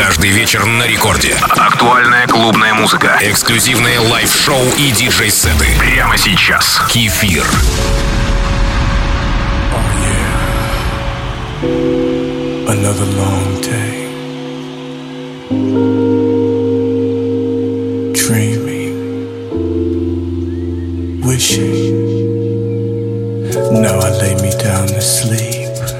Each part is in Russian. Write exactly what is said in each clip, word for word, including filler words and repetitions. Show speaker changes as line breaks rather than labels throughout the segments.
Каждый вечер на рекорде. Актуальная клубная музыка. Эксклюзивные лайв-шоу и диджей-сеты. Прямо сейчас. Кефир.
Oh, yeah. Another long day. Dreaming. Wishing. Now I lay me down to sleep.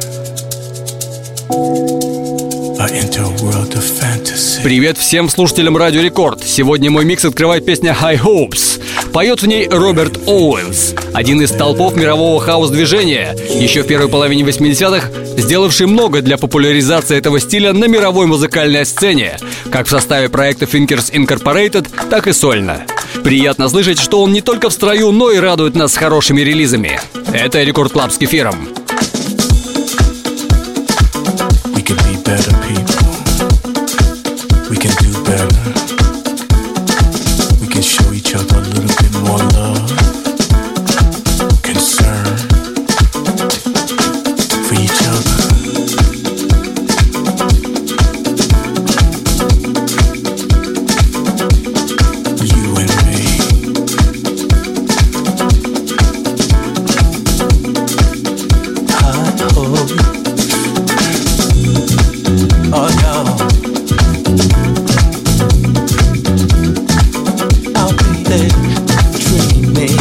Привет всем слушателям Радио Рекорд. Сегодня мой микс открывает песня High Hopes. Поет в ней Роберт Оуэнс, один из столпов мирового хаус-движения, еще в первой половине восьмидесятых, сделавший много для популяризации этого стиля на мировой музыкальной сцене, как в составе проекта Thinkers Incorporated, так и сольно. Приятно слышать, что он не только в строю, но и радует нас хорошими релизами. Это Рекорд Клаб с Кефиром.
Better people, we can do better. We can show each other a little bit more love, concern for each other. You and me. I hope. Oh no, I'll be there dreaming.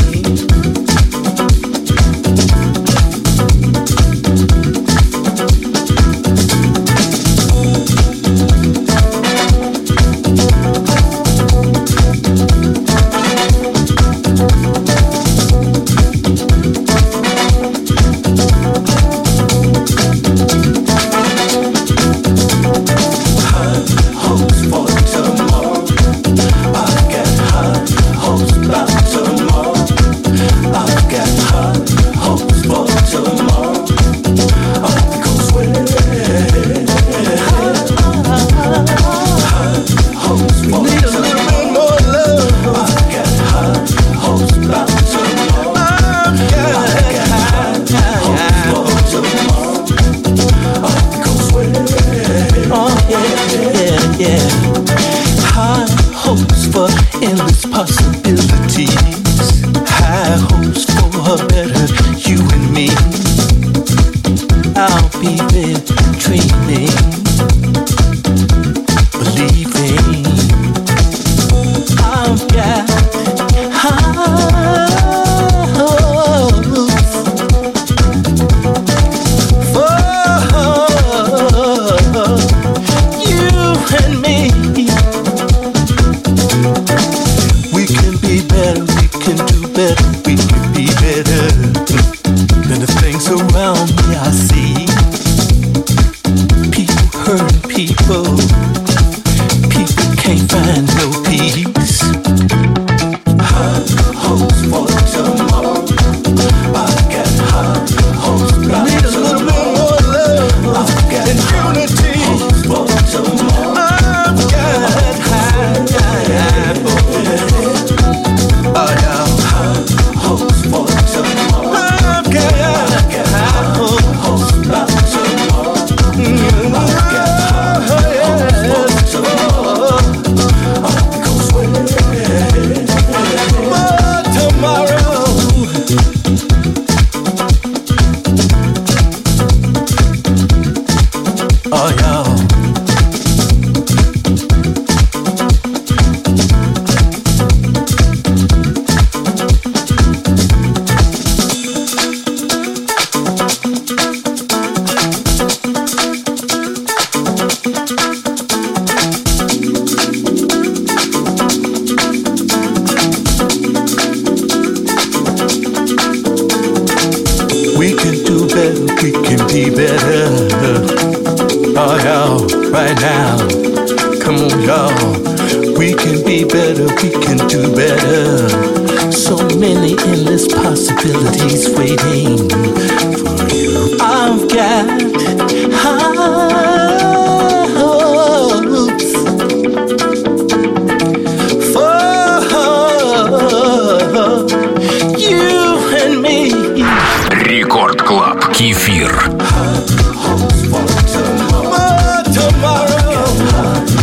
Рекорд Клаб. Кефир.
Tomorrow.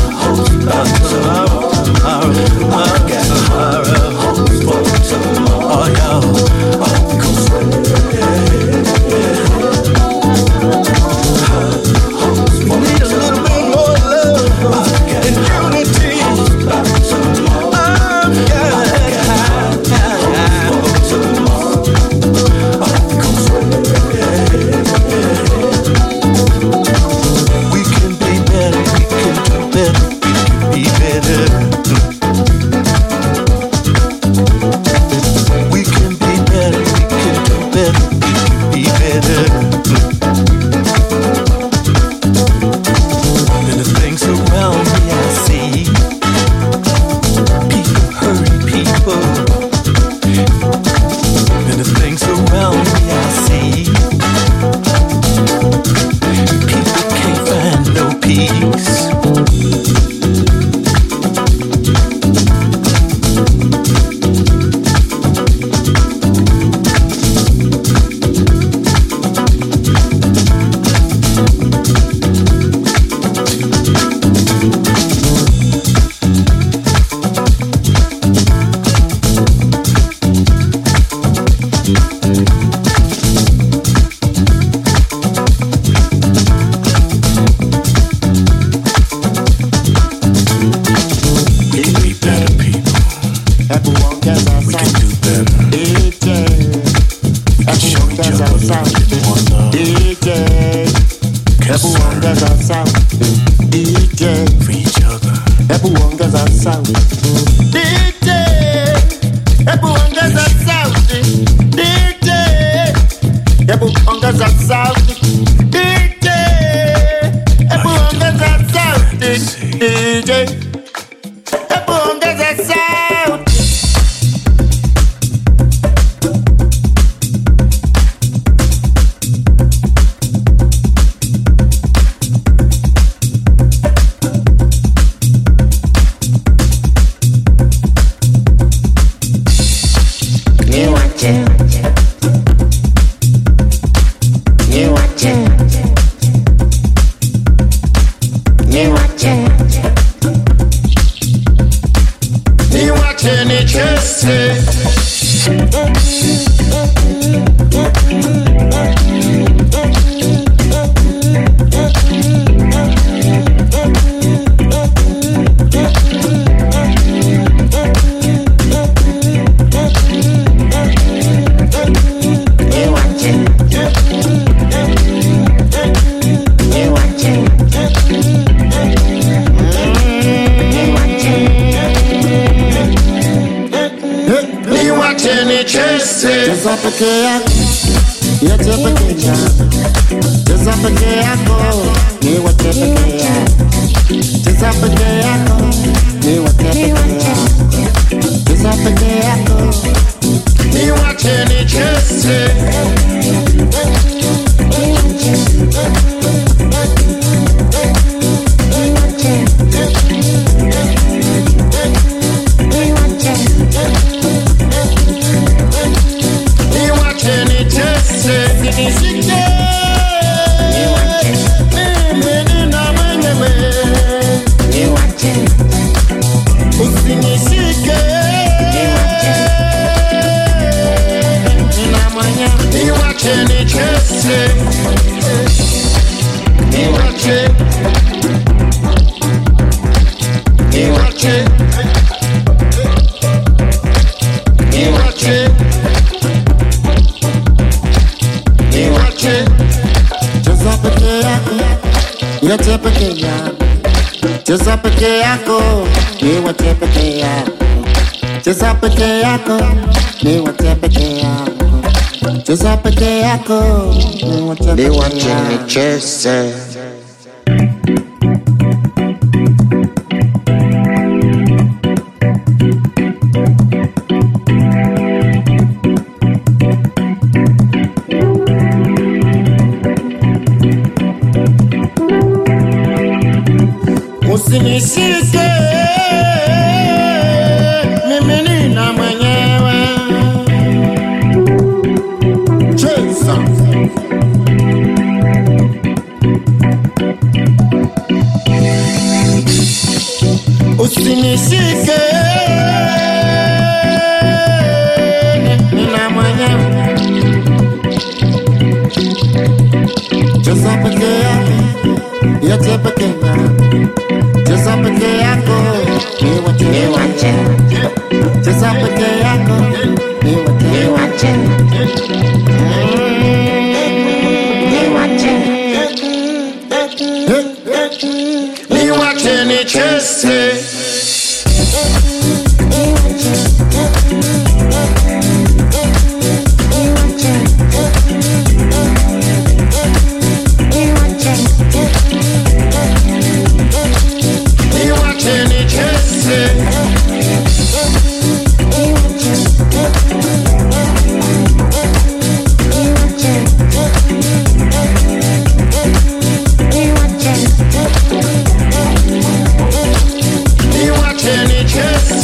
ongeza sauti D J
for each other.
Hebu ongeza sauti D J Hebu ongeza sauti D J Hebu ongeza sauti D J Hebu ongeza sauti D J Hebu ongeza sauti. Cheza peke yako, ni wache peke yako. Cheza peke yako, ni wache peke yako. Cheza peke yako, ni wache peke yako. Ni wache nicheze. Usinishike mimi nina mwenyewe. Cheza usinishike nina mwenyewe. Cheza peke yako, yache peke yako. Cheza peke yako, ni wache. Cheza peke yako, ni wache. Ni wache. Ni wache nicheze. Yes.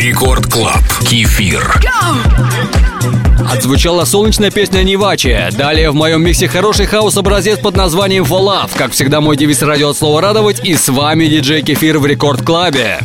Рекорд Клаб. Кефир.
Отзвучала солнечная песня Нивачи. Далее в моем миксе хороший хаус-образец под названием For Love. Как всегда, мой девиз радио от слова радовать. И с вами диджей Кефир в Рекорд Клабе.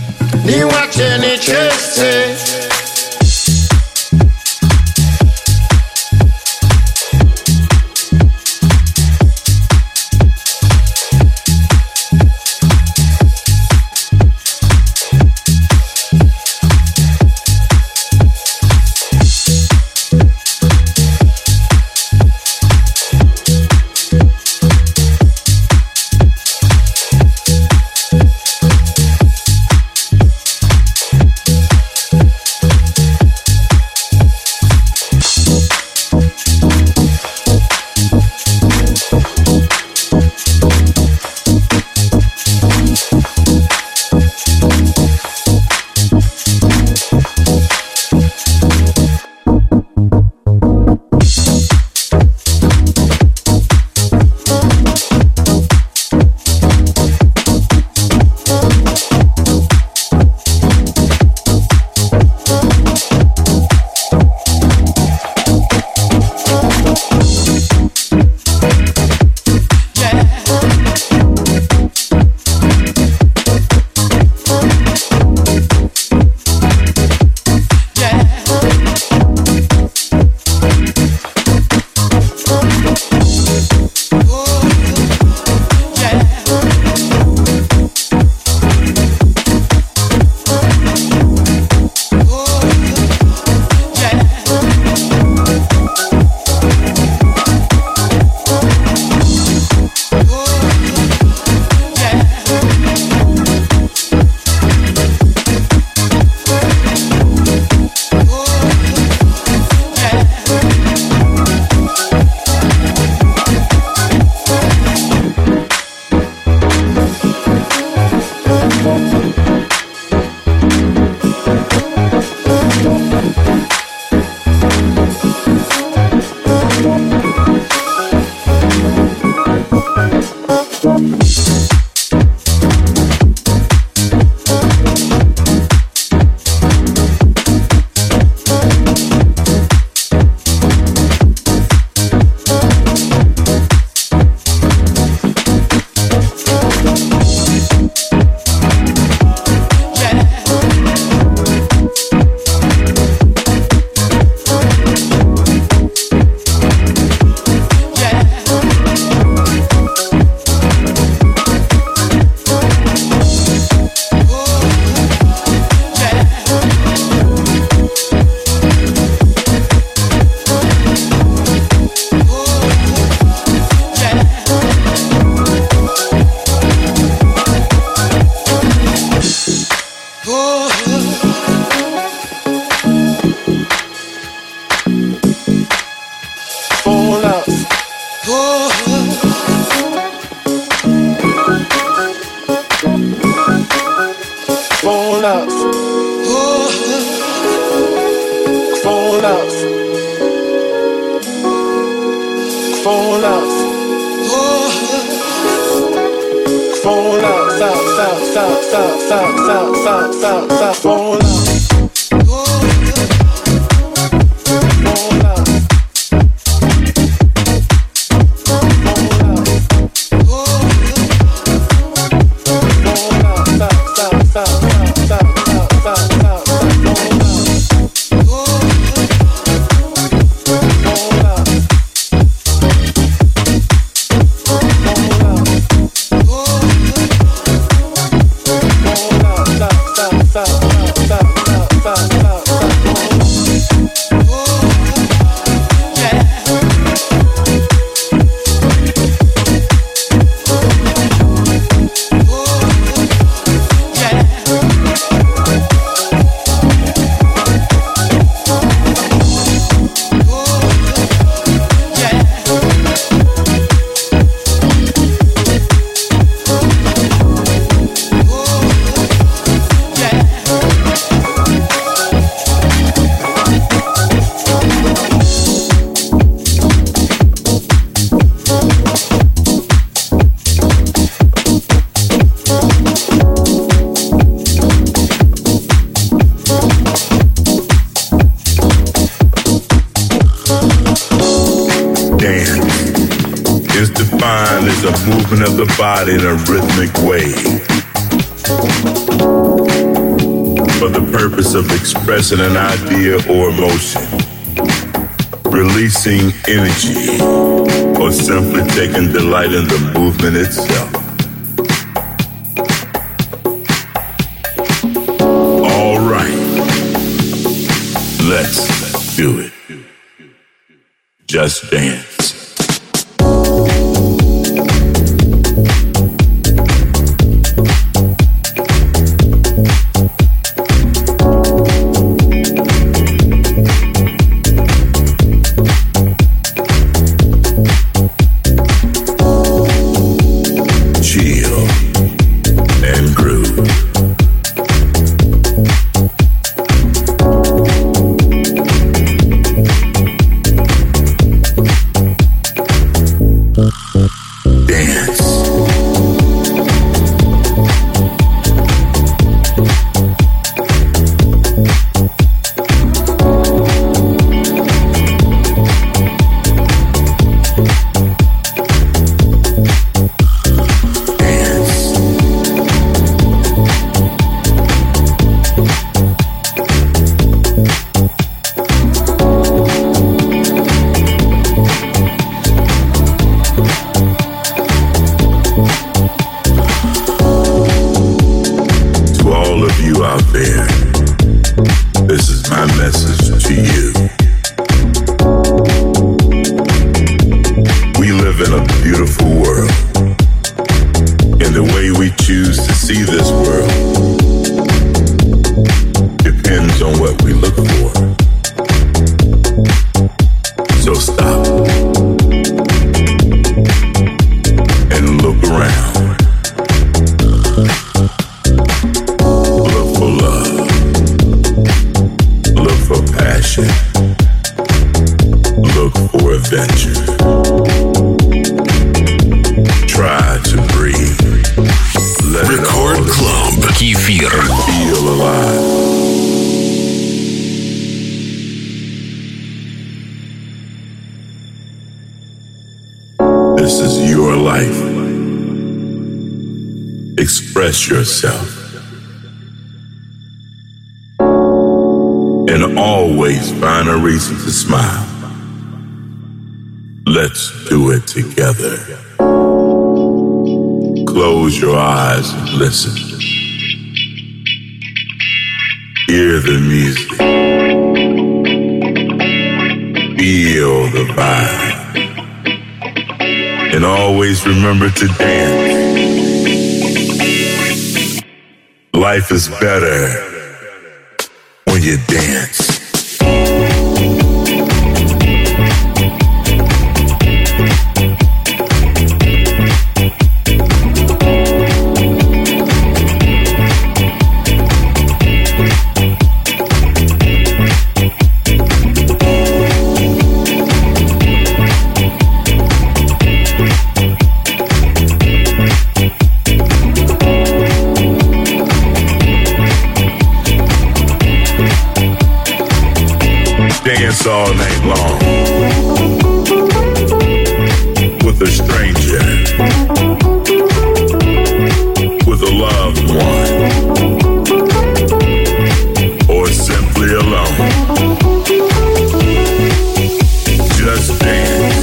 movement of the body in a rhythmic way for the purpose of expressing an idea or emotion, releasing energy, or simply taking delight in the movement itself. All right, let's do it. Just dance. Express yourself and always find a reason to smile. Let's do it together. Close your eyes and listen. Hear the music. Feel the vibe. And always remember to dance. Life is better when you dance. Dance all night long with a stranger, with a loved one, or simply alone. Just dance.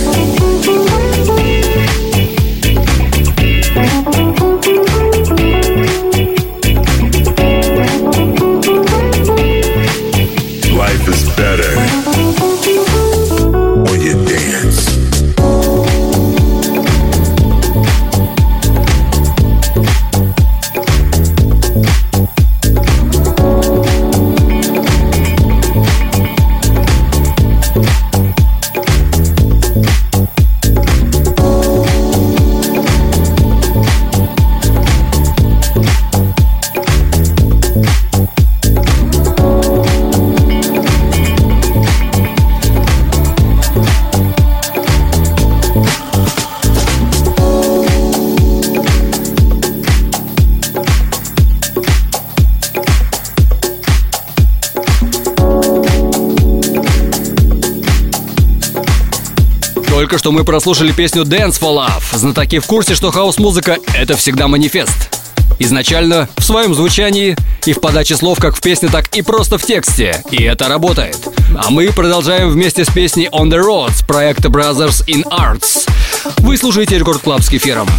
Life is better when you dance.
Только что мы прослушали песню Dance for Love. Знатоки в курсе, что хаус-музыка — это всегда манифест. Изначально в своем звучании и в подаче слов как в песне, так и просто в тексте. И это работает. А мы продолжаем вместе с песней On the Road проекта Brothers in Arts. Вы слушаете Рекорд Клаб с Кефиром.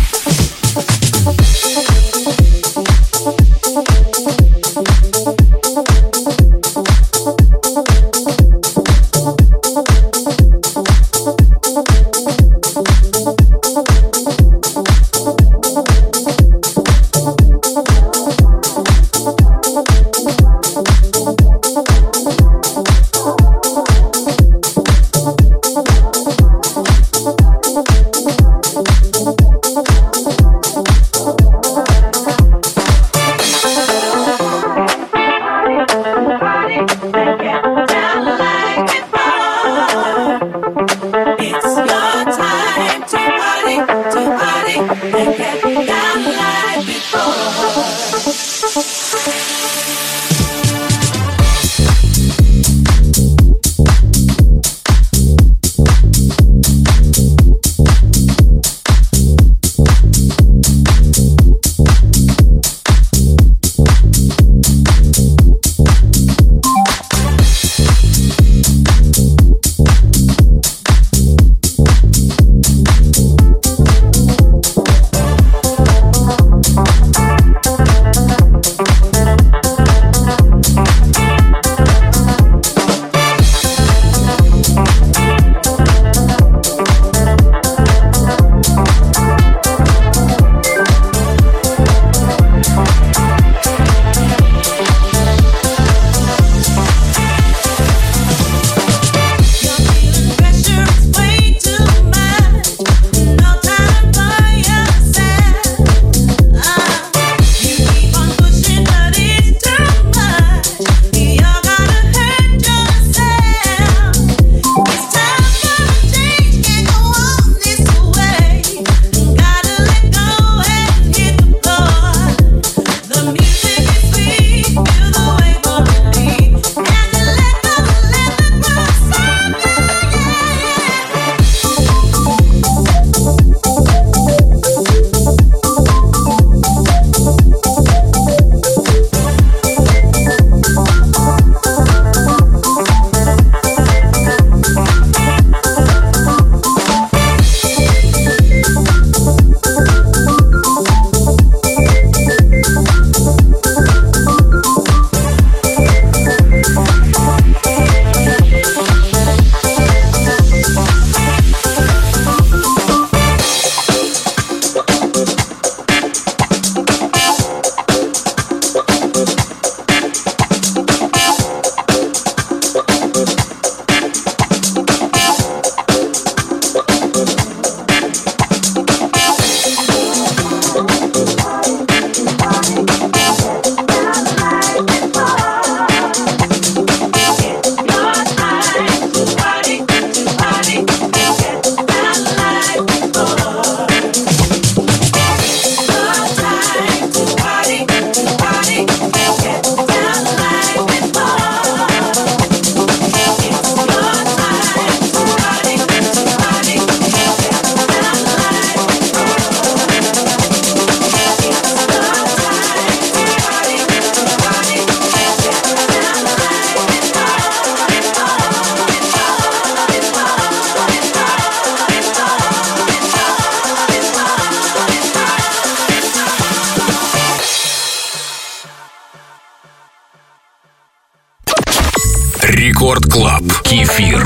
Рекорд Клаб. Кефир.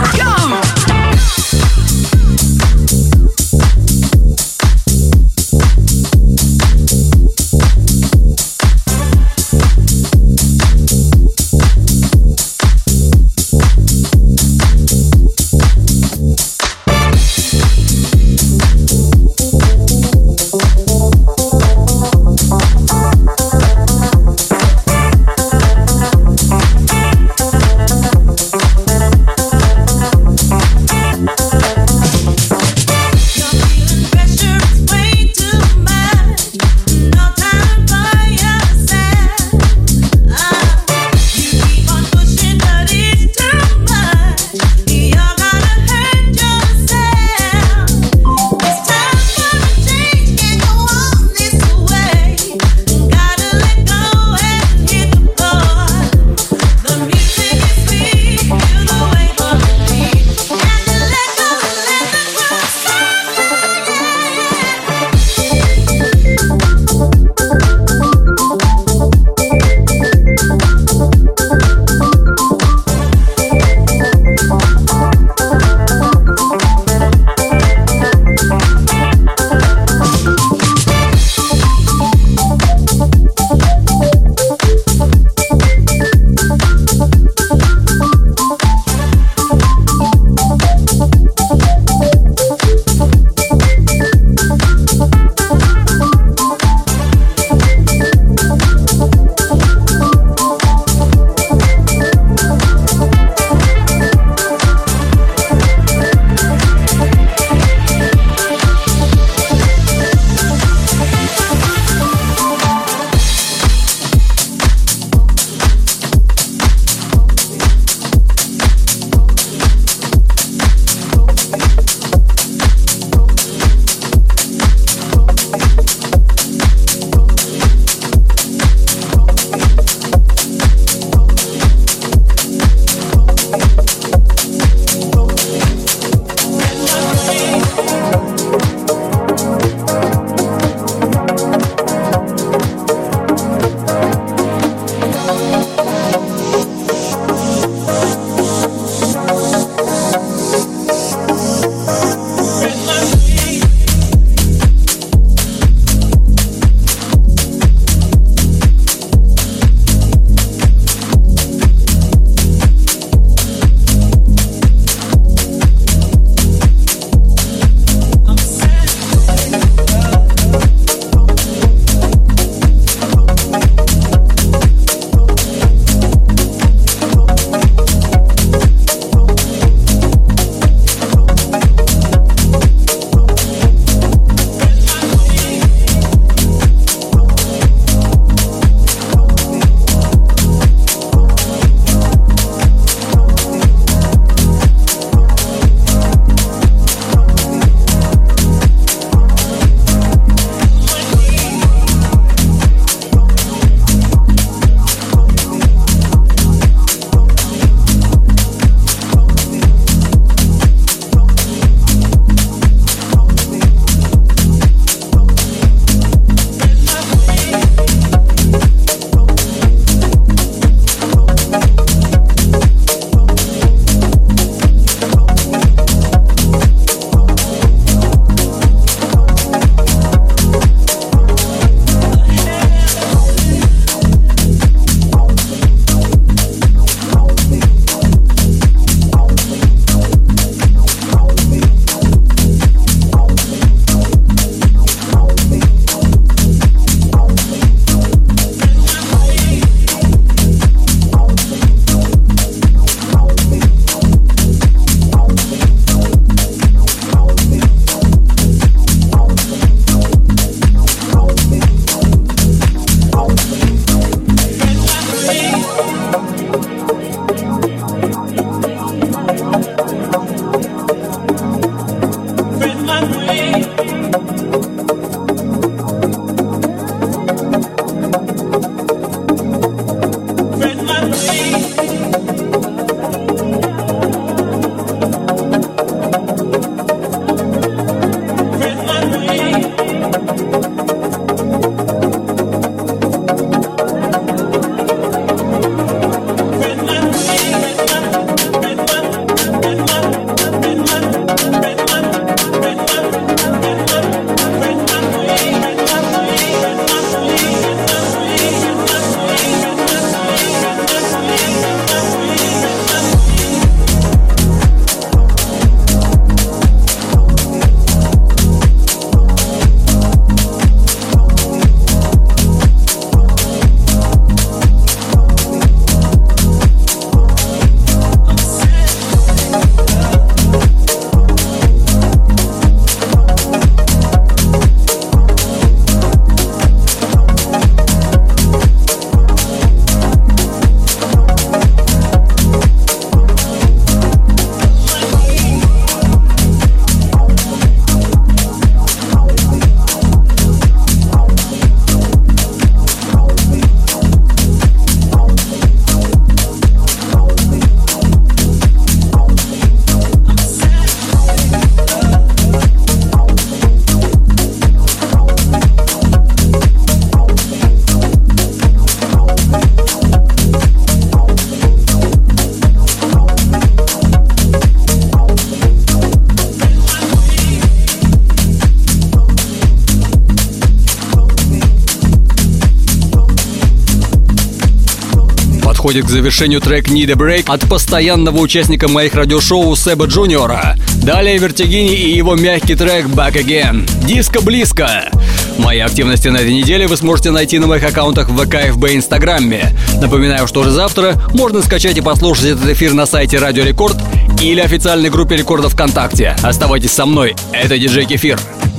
подходит к завершению трек Need a Break от постоянного участника моих радиошоу Себа Джуниора. Далее Вертигини и его мягкий трек Back Again. Диско близко. Мои активности на этой неделе вы сможете найти на моих аккаунтах в ВК, ФБ и Инстаграме. Напоминаю, что уже завтра можно скачать и послушать этот эфир на сайте Радио Рекорд или официальной группе Рекорда ВКонтакте. Оставайтесь со мной, это диджей Кефир.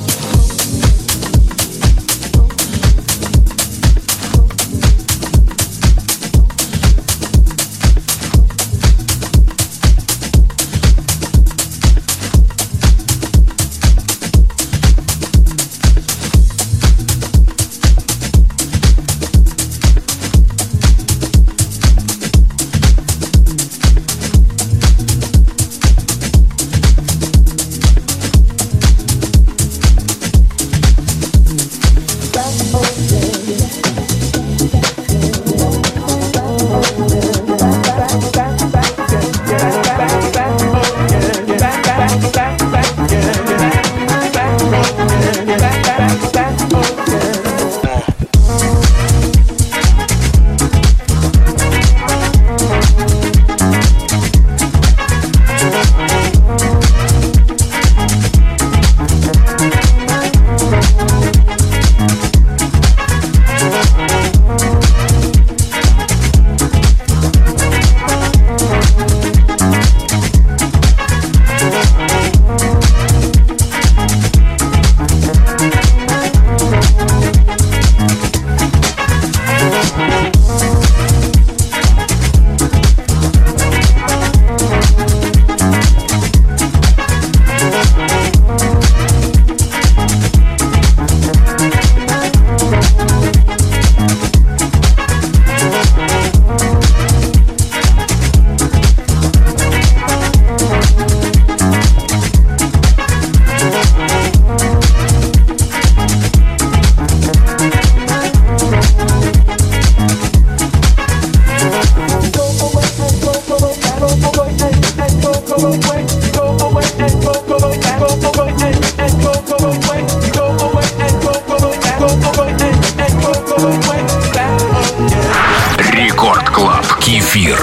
Рекорд Клаб Кефир.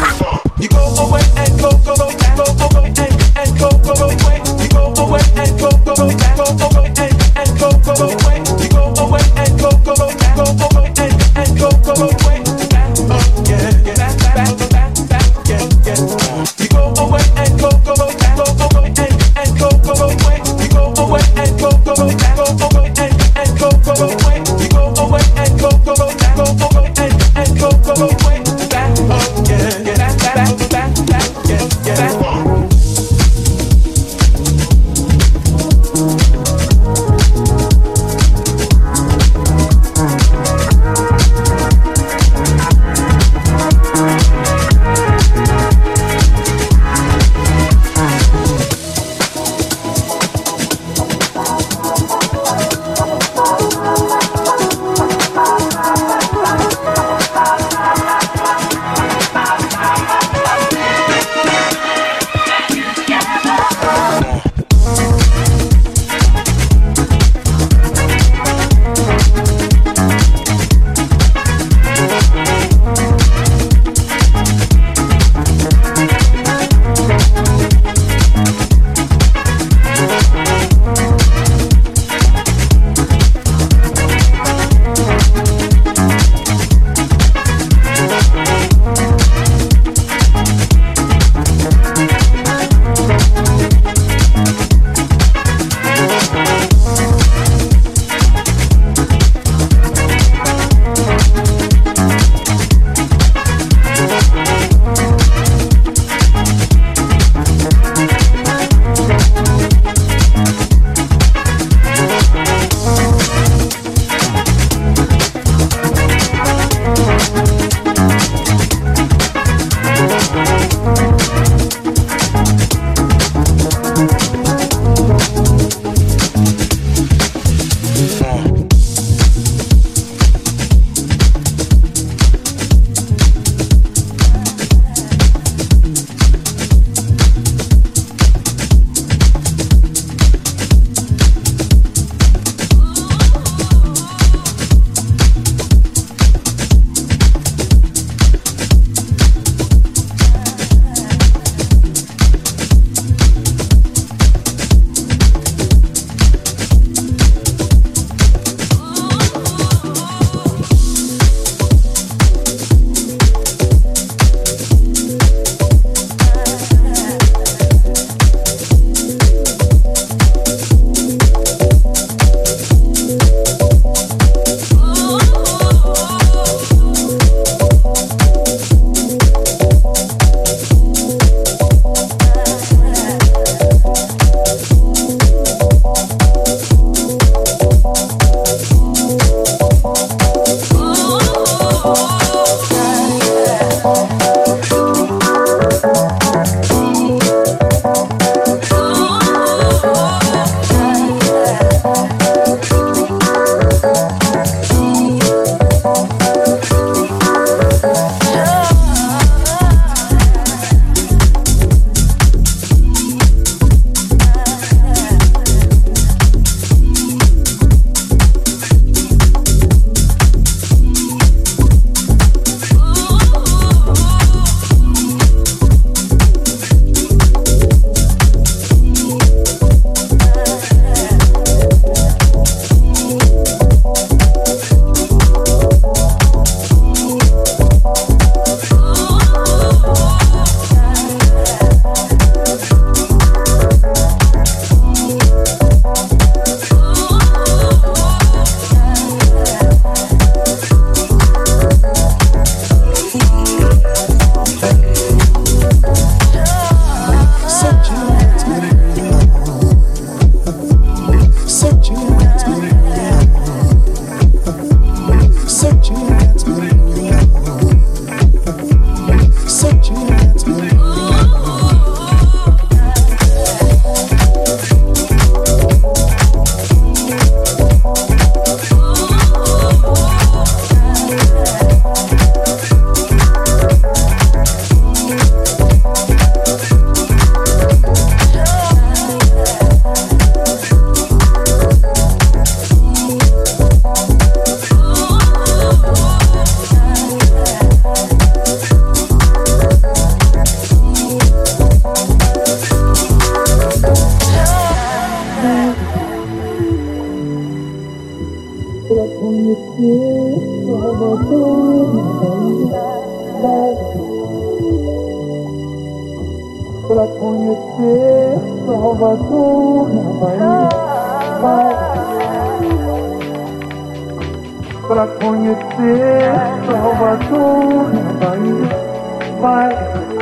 Pra conhecer Salvador na Bahia, vai. Pra conhecer Salvador na Bahia, vai.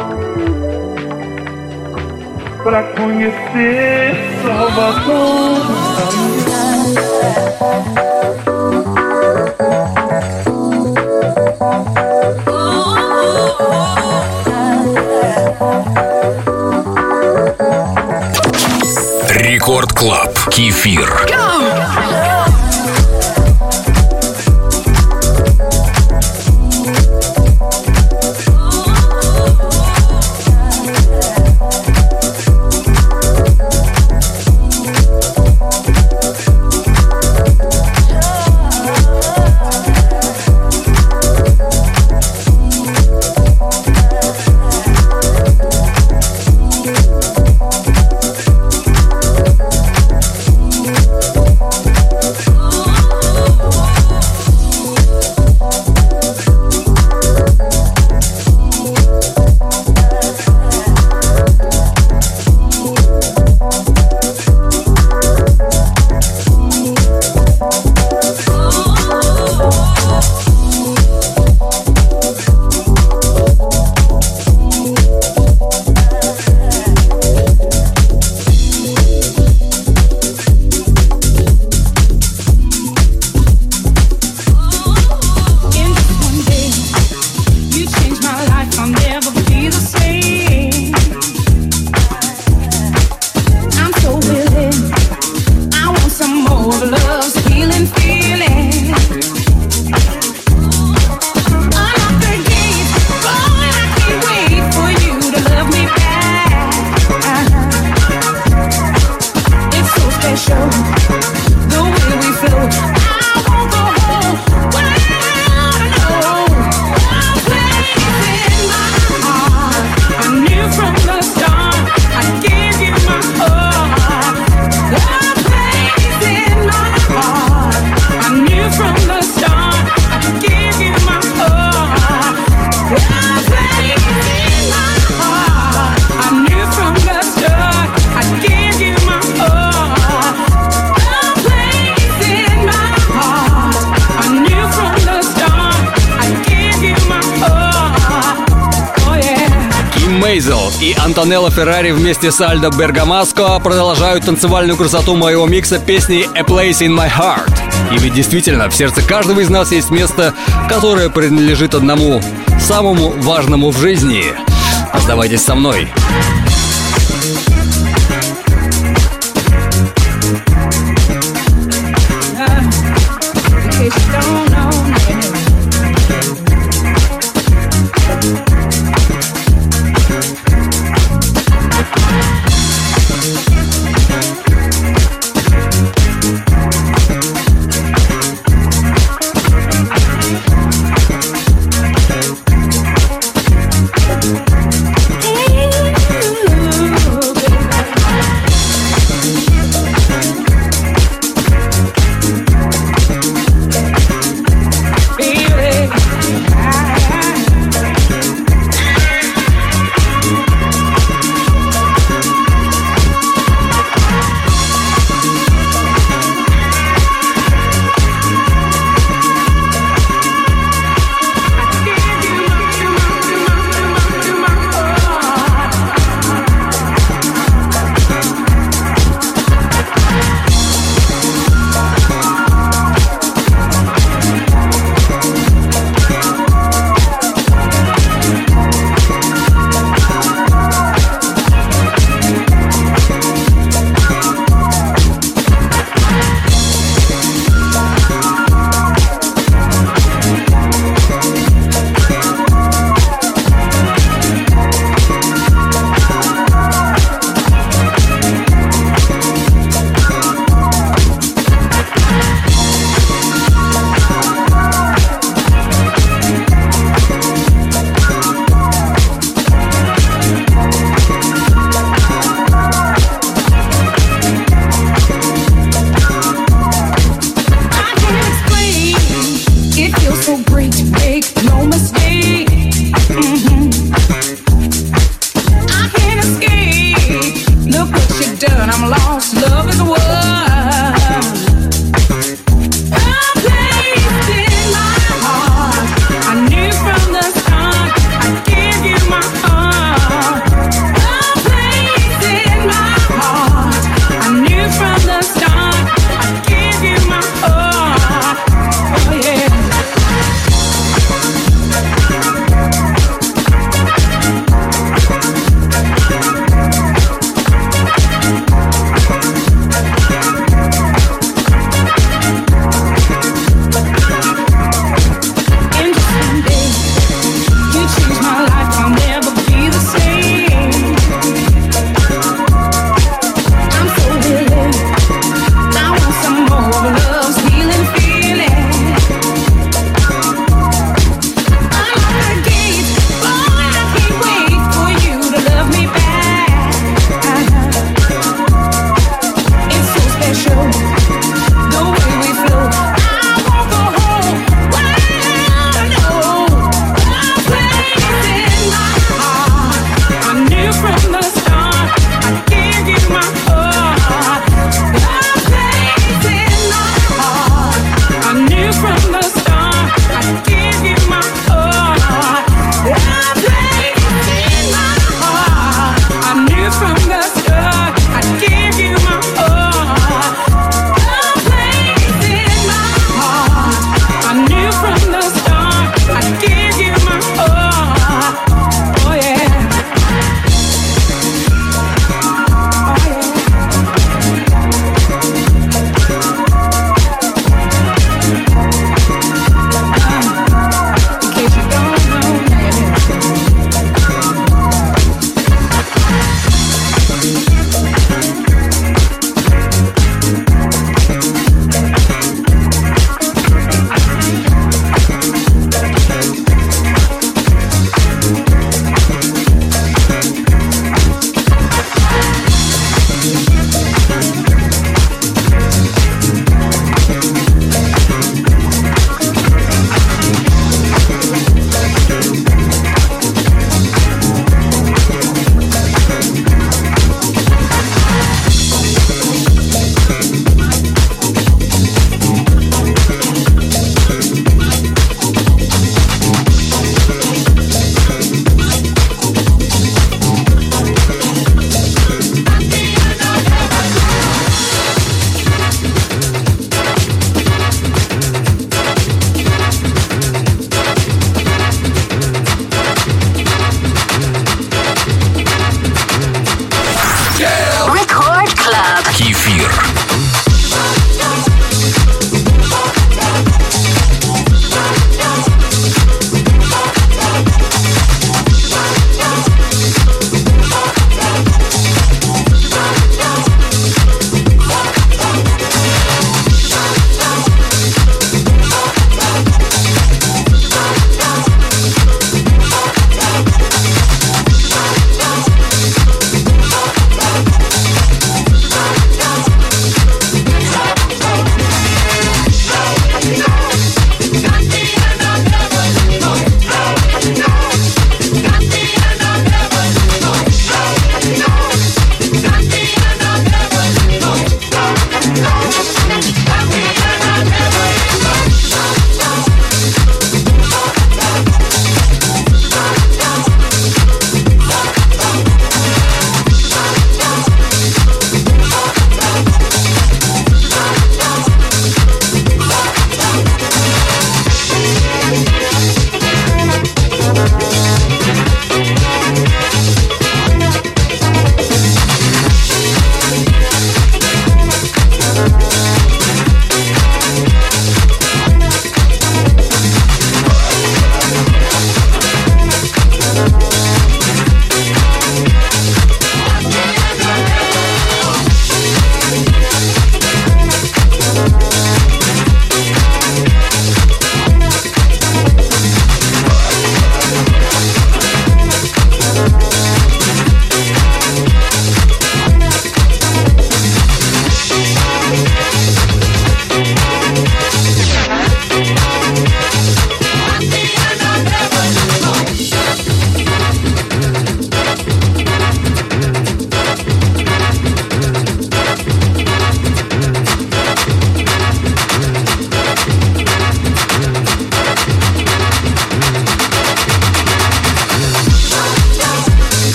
Pra conhecer Salvador na Bahia.
Рекорд Клаб. Кефир.
И Антонелло Феррари вместе с Альдо Бергамаско продолжают танцевальную красоту моего микса песни «A Place in My Heart». И ведь действительно, в сердце каждого из нас есть место, которое принадлежит одному, самому важному в жизни. Оставайтесь со мной.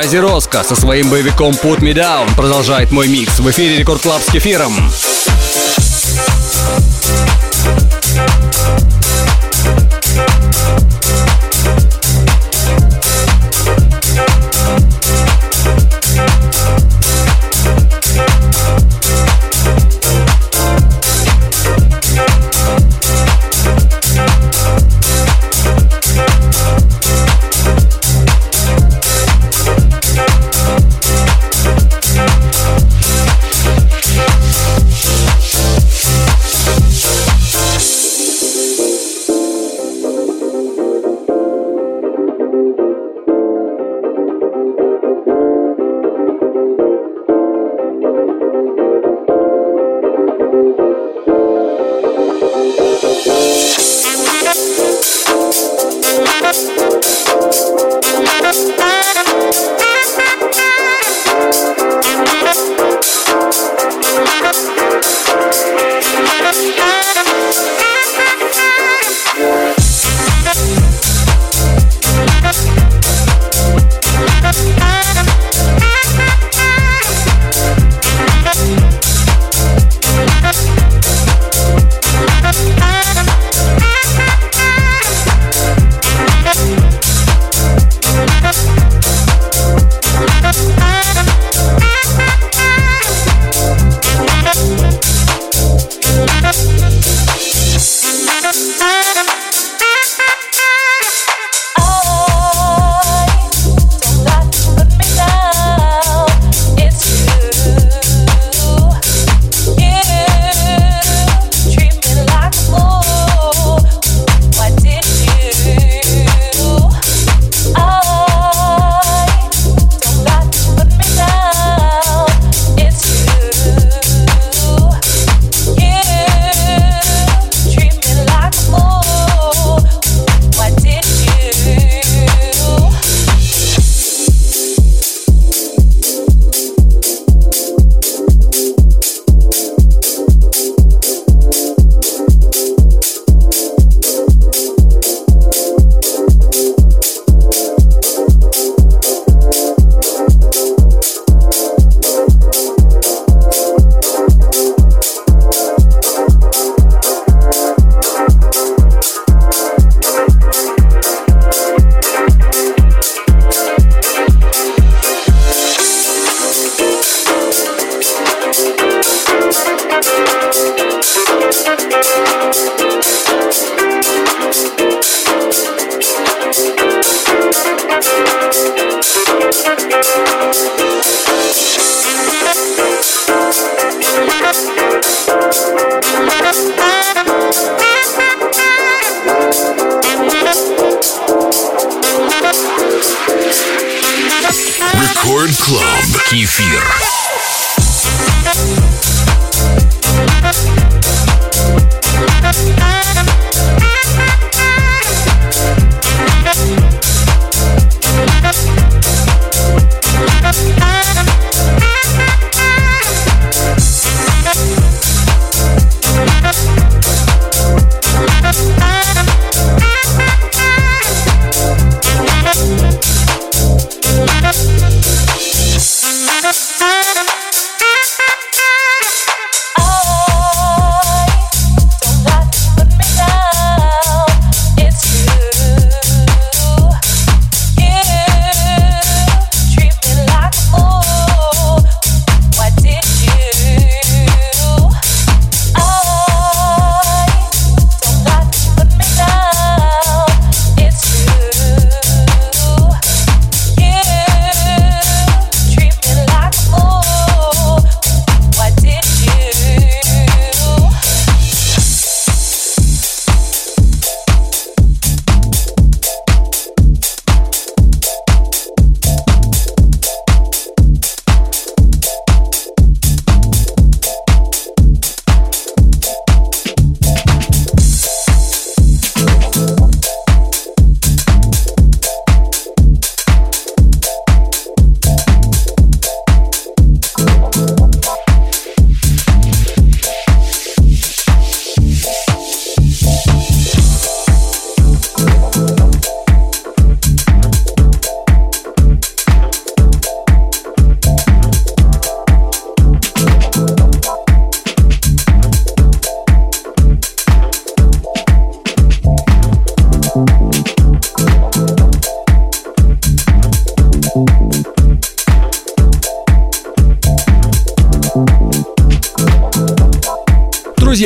Ази Роско со своим боевиком Put Me Down продолжает мой микс в эфире Рекорд Клаб с Кефиром.
Рекорд Клаб. Кефир.
I don't like to put me down.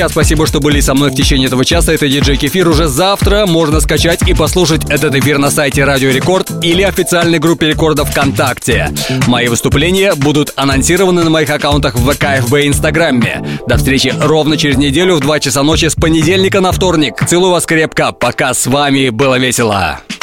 друзья, спасибо, что были со мной в течение этого часа. Это диджей Кефир. Уже завтра можно скачать и послушать этот эфир на сайте Радио Рекорд или официальной группе Рекорда ВКонтакте. Мои выступления будут анонсированы на моих аккаунтах в ВК, эф бэ и Инстаграме. До встречи ровно через неделю в два часа ночи с понедельника на вторник. Целую вас крепко. Пока, с вами было весело.